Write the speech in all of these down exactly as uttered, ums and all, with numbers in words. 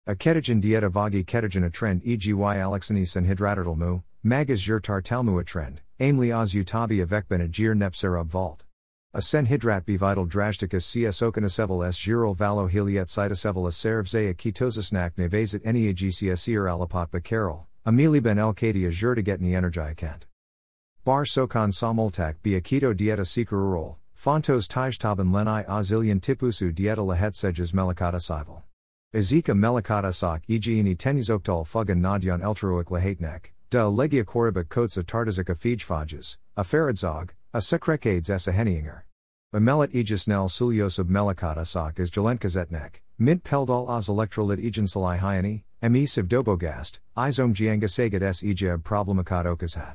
A ketogen dieta vagi ketogen a trend eg y alexanis and hydratatal mu, magas jur tartalmu a trend, aimli oz utabi avec benagir nepserub vault. A sen hydrat bivital drasticus cs okanaseval s giral valo heliet cytoseval a servze a ketosisnak nevasit neagcsir alapot bacarol, amili ben el kadia jur to get ni energicant. Bar sokan samoltak be a keto dieta sekururol, fontos tajtaben lenai azilian tipusu dieta lahet sejas melicata sival. Ezeka melicata sok eg ini tenizoktal fugan nadyan eltruic lahatnek, da legia corribic coats a tartasica fijfages, a feradzog, a secrecades s a henninger. Bemelit aegisnel suliosub melicata sok is jelenkazetnek, mint peldal os electrolyt egensalai hyani, me sivdobogast, izom giangasagat s ejab problemakat okazhat.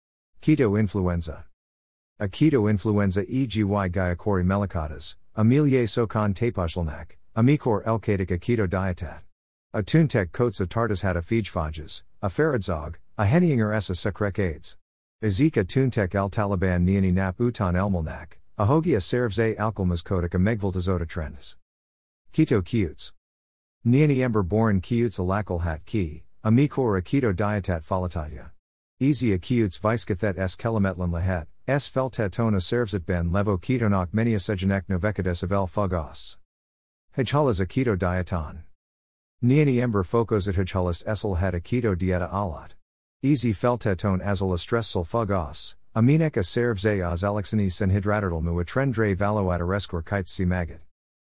Keto influenza. A keto influenza eg y gaiakori melicatas, amelie sokan tapashlnak, amikor elkatic a keto dietat. A tuntek coats a tartas hat a fijfages, a feradzog, a henninger s a secrecades. Ezeka tuntek al taliban niani nap utan elmulnak, a hogia servze alkalmas kodik a megvoltazota trends. Keto kiutes. Niani ember borin kiutes a lakal hat ki, a mikor a keto dietat falatatya. Easy a kiutes viskathet s kelametlan lahet, s feltetona servset ben levo ketonok menia sejanek novekades of el fugos. Hijhalas a keto dieton. Niani ember focos at hijhalas esel het a keto dieta alat. Easy feltetone azol a stressel fugos, aminek a servze az alexanis and hydratatal mu a trendre valoat a rescor kites si maggot.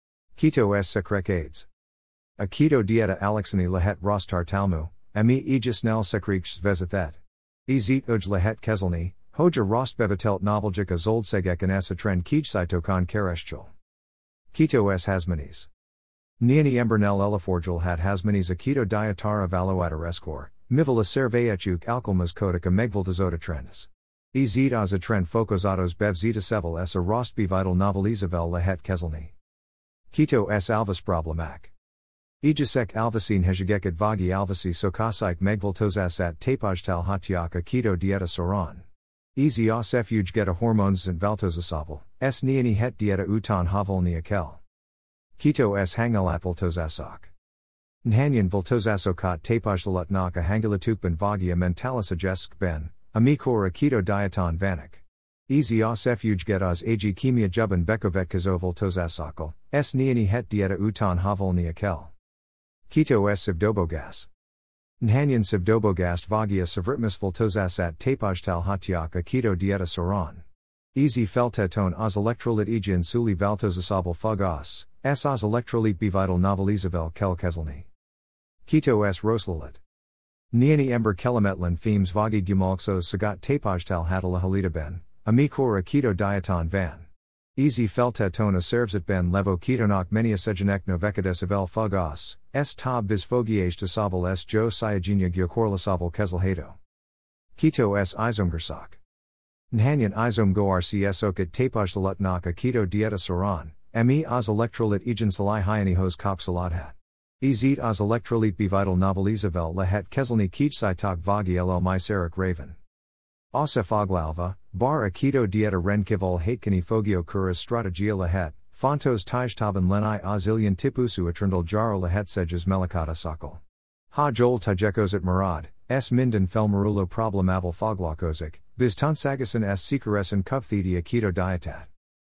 Keto s secrecades. A keto dieta alexani lahet rostar talmu, ami aegisnel secreches vezathet. Ezit uj lahet kezelni, hoja rostbevatelt noveljik a zoldsegek and s a trend kijcytokon kereshchul. Keto s hasmanis. Niani embernel elaforgil hat hasmanis a keto dietara valoat a rescor, mivel a serveechuk alkalmas kodik a megvoltazota trends. Ezit az a trend focosatos bev zeta sevel s a rostbevital novelizavel lahet kezelni. Keto s alvis problemac. Ejisek alvacine hejageket vagi alvasi sokasik megvoltozasat tapajtal hatiak a keto dieta soran. Easy os fuge get a hormones and valtozasavel, s niani het dieta utan havolni akel. Keto s hangalat voltozasok. Nhanyan voltozasokot tapajdalut a hangalatukban vagi a mentalis ajesk ben, a mikor a keto dieton vanik. Easy os fuge get os ag chemia juban bekovet kazo voltozasokal, s niani het dieta utan havolni akel. Keto s sivdobogast. Nhanyan sivdobogast vagia savritmus voltozasat tapajtal hatiak a keto dieta soran. Easy feltetone os electrolyt egian suli valtozasabal fugos, s os electrolyt bivital novelizavel kel kezelni. Keto s roslalit. Niani ember kelametlan themes vagi gumalxos sagat tapajtal hatala halita ben, amikor a keto dieton van. Easy feltetone a servset ben levo ketonok menia sejanek novekades of el fugos, s tab vis fogiage to saval s jo syagenia gyokorlasaval kezelhato. Keto s izomgersok. Nhanyan izom go rcs okit tapajdalut a keto dieta soran, me os electrolyt egan salai hyanihos kop saladhat. Ezit os electrolyt bivital novelizavel lahet kezelni kijcytok vagi ll myserik raven. Osefoglalva, bar a keto dieta renkivol hatkani fogio kuras strategia lahet, fontos tajtaben lenai azilian tipusu atrindal jaro lahet sejas melicata sakal. Ha jol tajekos at marad, s minden felmarulo problemavel foglakozik, biz tonsagasan s sekuresan kuvthedia keto dietat.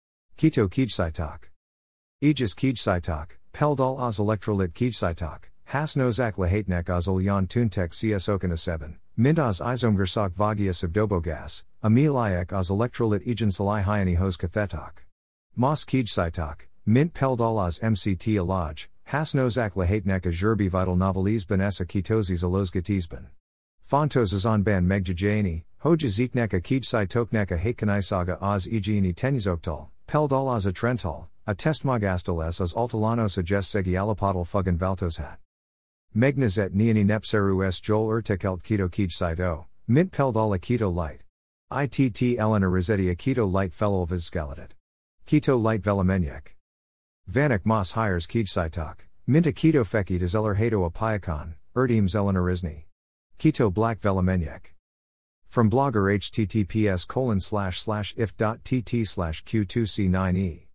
Keto kijcytok. Aegis kijcytok, peldal os electrolyt kijcytok, has nozak lahatnek os olyan tuntek cs okana seven. Mintas izomgersok vagia sivdobogas, ameliak os electrolyt egan salai hyani hos kathetok. Mos kijcytok, mint peldal os mct alaj, has nozak lahatnek a jurbi vital novelis benessa ketozis alozgatisban. Fontos azon ban megjajani, hoja ziknek a kijcytoknek a hatkanisaga os egini tenizoktal, peldal os a trental, a testmagastal s os altalano suggest segi alapotal fugan valtoshat. Megnazet niani nepseru s jol urtekelt keto kijcyto, mint peldal a keto light. Itt elena rossetti a keto light fellow skeletet. Keto light velamenyek. Vanik mas hires kijcytok, mint a keto feki dezeller hato a piakon, erdim zelena Keto black velamenyek. From blogger https colon slash slash if.tt slash q2c9e